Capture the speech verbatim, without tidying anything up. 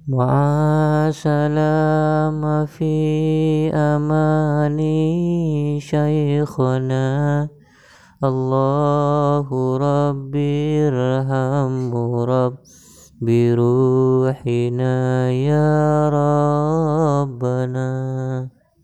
مع سلام في أماني شيخنا الله ربي ارحمه رب بروحنا يا رب